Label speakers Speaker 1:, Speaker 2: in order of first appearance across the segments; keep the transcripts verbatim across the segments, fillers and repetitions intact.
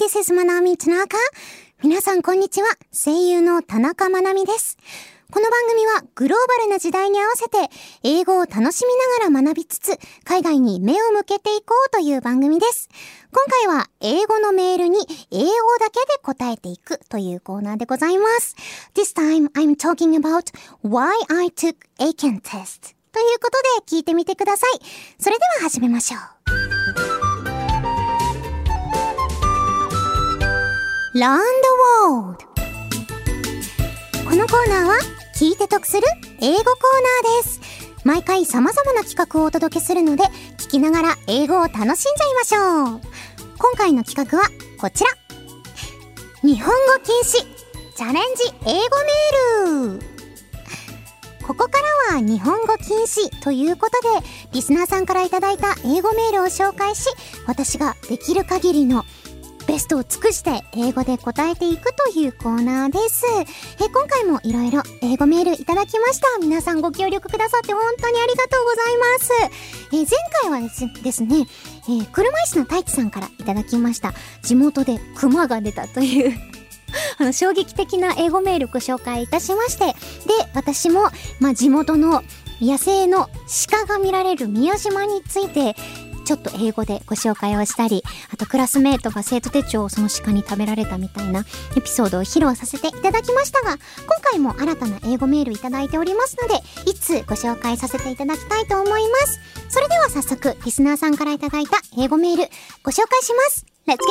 Speaker 1: this is Manami Tanaka. 皆さんこんにちは。声優の田中まなみです。この番組はグローバルな時代に合わせて英語を楽しみながら学びつつ海外に目を向けていこうという番組です。今回は英語のメールに英語だけで答えていくというコーナーでございます。This time I'm talking about why I took A C A N test ということで聞いてみてください。それでは始めましょう。Learn the World。このコーナーは聞いて得する英語コーナーです。毎回様々な企画をお届けするので聞きながら英語を楽しんじゃいましょう。今回の企画はこちら。日本語禁止チャレンジ英語メール。ここからは日本語禁止ということでリスナーさんからいただいた英語メールを紹介し、私ができる限りのベストを尽くして英語で答えていくというコーナーです。え今回もいろいろ英語メールいただきました。皆さんご協力くださって本当にありがとうございます。え前回はですですね、えー、車椅子の太一さんからいただきました。地元でクマが出たというあの衝撃的な英語メールご紹介いたしまして、で私も、まあ、地元の野生の鹿が見られる宮島についてちょっと英語でご紹介をしたり、あとクラスメートが生徒手帳をその鹿に食べられたみたいなエピソードを披露させていただきましたが、今回も新たな英語メールいただいておりますので、いつご紹介させていただきたいと思います。それでは早速リスナーさんからいただいた英語メールご紹介します。 Let's get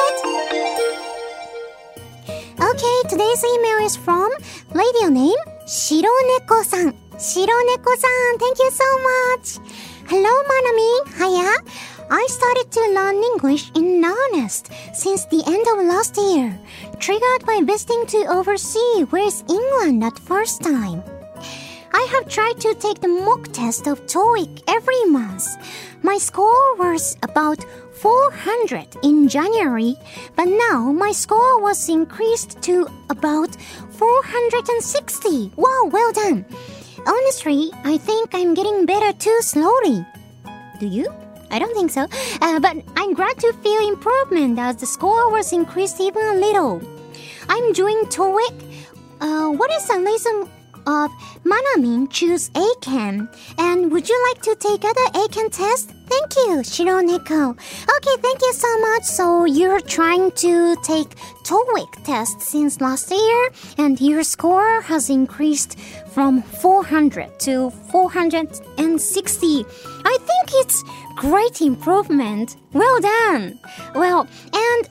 Speaker 1: started! Okay, today's email is from radio name 白猫さん。白猫さん Thank you so much!Hello, Manami. Hiya. I started to learn English in earnest since the end of last year, triggered by visiting to overseas West England at first time. I have tried to take the mock test of TOEIC every month. My score was about four hundred in January, but now my score was increased to about four hundred sixty. Wow, well done.Honestly, I think I'm getting better too slowly. Do you? I don't think so. Uh, but I'm glad to feel improvement as the score was increased even a little. I'm doing TOEIC. Uh, what is the reason of Manami choose A C A N? And would you like to take other A C A N tests? Thank you, Shironeko. Okay, thank you so much. So you're trying to take TOEIC test since last year, and your score has increased from four hundred to four hundred sixty. I think it's great improvement. Well done. Well, and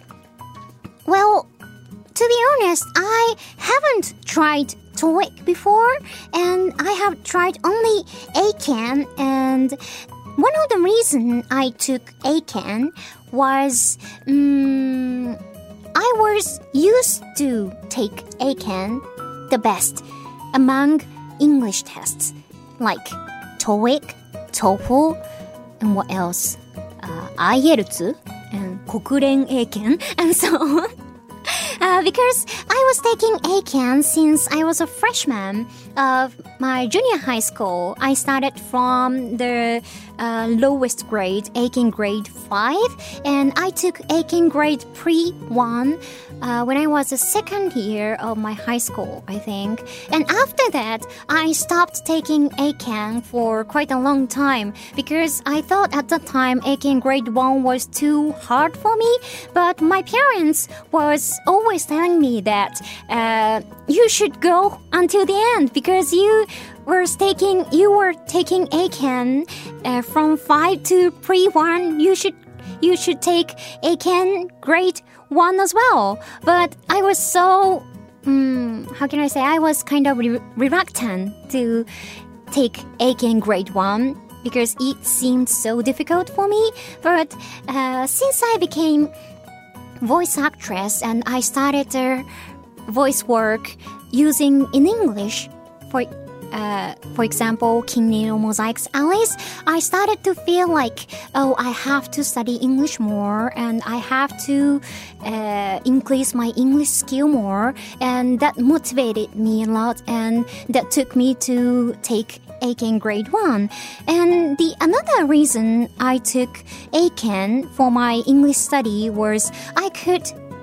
Speaker 1: well, to be honest, I haven't tried TOEIC before, and I have tried only A C A N, and one of the reasons I took A C A N was um, I was used to take A C A N the best among English tests like TOEIC, TOEFL, and what else? Uh, I E L T S and 国連英検 and so on.Uh, because I was taking A C A N since I was a freshman of my junior high school. I started from the uh, lowest grade, A C A N grade five, and I took A C A N grade pre one uh, when I was a second year of my high school, I think. And after that, I stopped taking A C A N for quite a long time because I thought at the time A C A N grade one was too hard for me, but my parents was always telling me that uh, you should go until the end because you were taking you were taking A C A N uh, from five to pre one. You should you should take A C A N grade one as well. But I was so um, how can I say I was kind of re- reluctant to take A C A N grade one because it seemed so difficult for me. But uh, since I became voice actress and I started uh, voice work using in English for uh, for example King Nino Mosaic's Alice, I started to feel like oh I have to study English more and I have to uh, increase my English skill more, and that motivated me a lot and that took me to take A C A N grade one. And the another reason I took A C A N for my English study was I could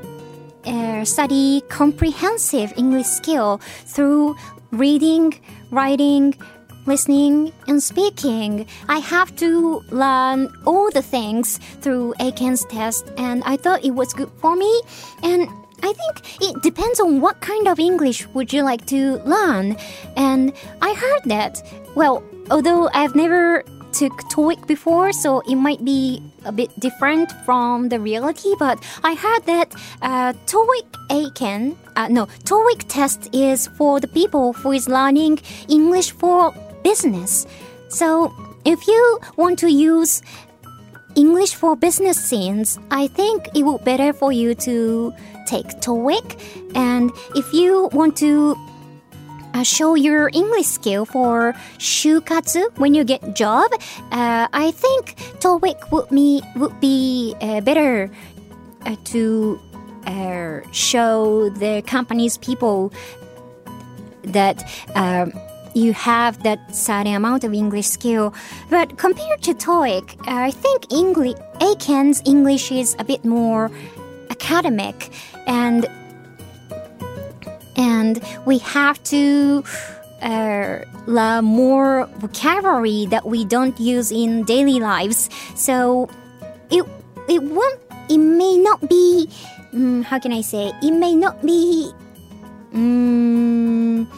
Speaker 1: uh, study comprehensive English skill through reading, writing, listening, and speaking. I have to learn all the things through Eiken's test, and I thought it was good for me. And I think it depends on what kind of English would you like to learn. And I heard that, well, although I've never took TOEIC before, so it might be a bit different from the reality, but I heard that uh, TOEIC Eiken, uh, no, TOEIC test is for the people who is learning English for business. So if you want to use English for business scenes, I think it would be better for you to take TOEIC. And if you want to uh, show your English skill for 就活 when you get job, uh, I think TOEIC would be, would be uh, better uh, to uh, show the company's people that uh, you have that certain amount of English skill. But compared to TOEIC, I think English, Eiken's English is a bit more academic, and and we have to uh, learn more vocabulary that we don't use in daily lives. So it it won't it may not be um, how can I say it may not be um,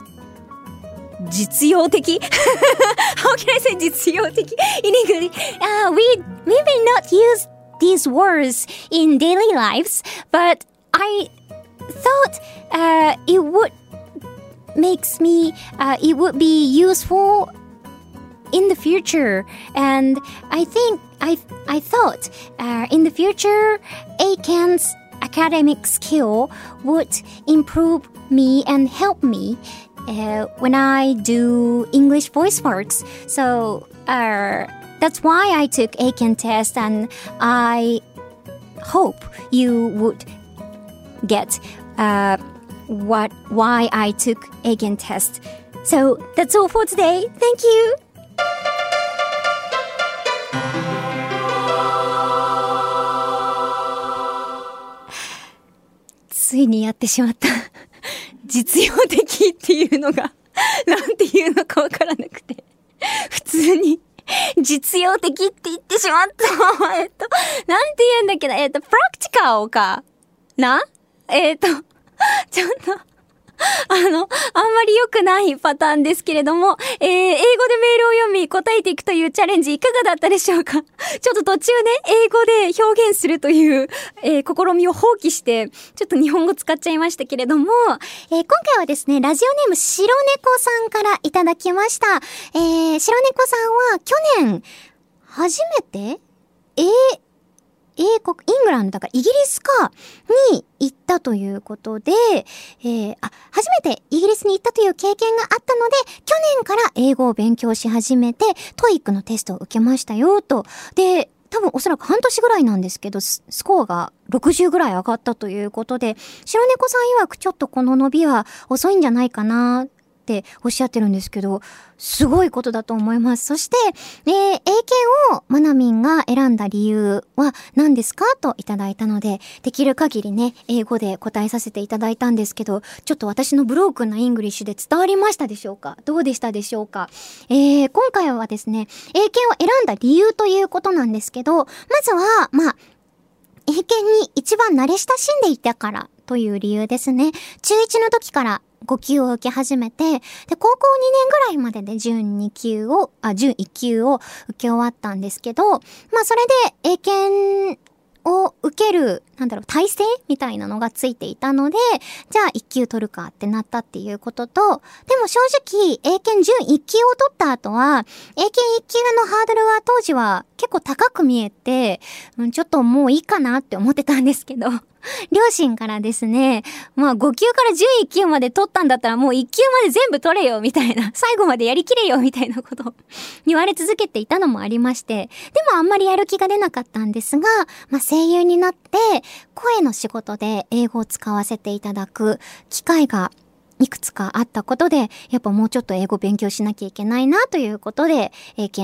Speaker 1: 実用的 How can I say 実用的 in English? Uh, we, we may not use these words in daily lives, but I thought uh, it would makes me, uh, it would be useful in the future. And I think, I, I thought uh, in the future, Eiken's academic skill would improve me and help me Uh, when I do English voice works. So uh, that's why I took Eiken test, and I hope you would get uh, what why I took Eiken test. So that's all for today. Thank you. ついにやってしまった。実用的っていうのがなんていうのかわからなくて、普通に実用的って言ってしまった。えっとなんて言うんだっけな、えっとプラクティカルかな、えっとちょっとあの、あんまり良くないパターンですけれども、えー、英語でメールを読み答えていくというチャレンジいかがだったでしょうか。ちょっと途中ね、英語で表現するという、えー、試みを放棄して、ちょっと日本語使っちゃいましたけれども、えー、今回はですね、ラジオネーム白猫さんからいただきました。えー、白猫さんは去年、初めて、えー、英国、イングランドだからイギリスかに行ったということで、えー、あ、初めてイギリスに行ったという経験があったので、去年から英語を勉強し始めて、トイックのテストを受けましたよと。で、多分おそらく半年ぐらいなんですけど、スコアがろくじゅうぐらい上がったということで、白猫さん曰くちょっとこの伸びは遅いんじゃないかなっておっしゃってるんですけど、すごいことだと思います。そして、えー、英検をマナミンが選んだ理由は何ですかといただいたので、できる限りね、英語で答えさせていただいたんですけど、ちょっと私のブロークンなイングリッシュで伝わりましたでしょうか？どうでしたでしょうか？えー、今回はですね、英検を選んだ理由ということなんですけど、まずは、まあ、英検に一番慣れ親しんでいたからという理由ですね。中いちの時からご級を受け始めて、で、高校にねんぐらいまでで準に級を、あ、準いっ級を受け終わったんですけど、まあそれで英検を受ける、なんだろう、体制みたいなのがついていたので、じゃあいっ級取るかってなったっていうことと、でも正直、英検準いっ級を取った後は、英検いっ級のハードルは当時は結構高く見えて、うん、ちょっともういいかなって思ってたんですけど、両親からですね、まあご級から準いっ級まで取ったんだったらもういっ級まで全部取れよみたいな、最後までやりきれよみたいなことを言われ続けていたのもありまして、でもあんまりやる気が出なかったんですが、まあ声優になって声の仕事で英語を使わせていただく機会がいくつかあったことで、やっぱもうちょっと英語勉強しなきゃいけないなということで、英検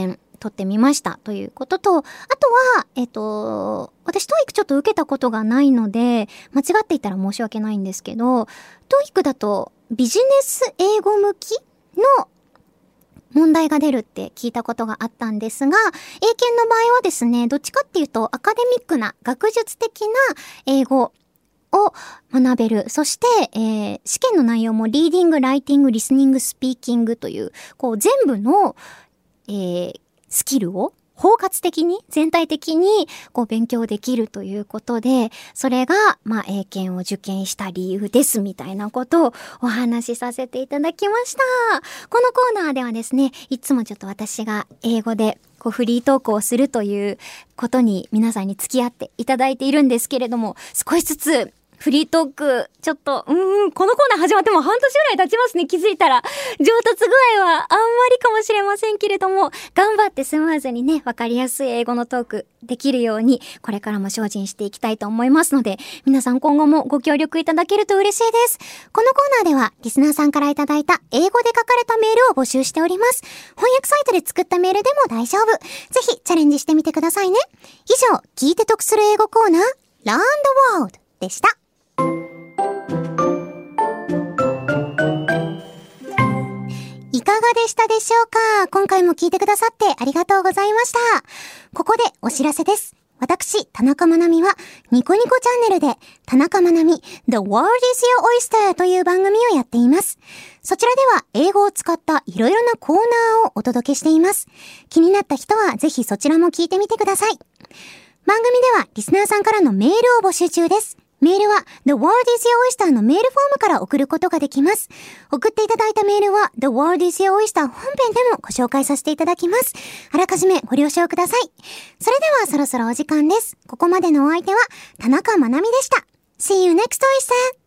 Speaker 1: 撮ってみましたということと、あとは、えっと、私トーイックちょっと受けたことがないので、間違っていたら申し訳ないんですけど、トーイックだとビジネス英語向きの問題が出るって聞いたことがあったんですが、英検の場合はですね、どっちかっていうとアカデミックな学術的な英語を学べる。そして、えー、試験の内容もリーディング、ライティング、リスニング、スピーキングという、こう全部の、えー、スキルを包括的に、全体的にこう勉強できるということで、それが、まあ、英検を受験した理由ですみたいなことをお話しさせていただきました。このコーナーではですね、いつもちょっと私が英語でこうフリートークをするということに皆さんに付き合っていただいているんですけれども、少しずつフリートーク、ちょっと、うーん、このコーナー始まっても半年ぐらい経ちますね、気づいたら。上達具合はあんまりかもしれませんけれども、頑張ってスムーズにね、わかりやすい英語のトークできるように、これからも精進していきたいと思いますので、皆さん今後もご協力いただけると嬉しいです。このコーナーでは、リスナーさんからいただいた英語で書かれたメールを募集しております。翻訳サイトで作ったメールでも大丈夫。ぜひチャレンジしてみてくださいね。以上、聞いて得する英語コーナー、Learn the World でした。いかがでしたでしょうか？今回も聞いてくださってありがとうございました。ここでお知らせです。私、田中まなみは、ニコニコチャンネルで、田中まなみ The World is Your Oyster という番組をやっています。そちらでは、英語を使ったいろいろなコーナーをお届けしています。気になった人は、ぜひそちらも聞いてみてください。番組では、リスナーさんからのメールを募集中です。メールは The World is Your Oyster のメールフォームから送ることができます。送っていただいたメールは The World is Your Oyster 本編でもご紹介させていただきます。あらかじめご了承ください。それではそろそろお時間です。ここまでのお相手は田中まなみでした。See you next Oyster!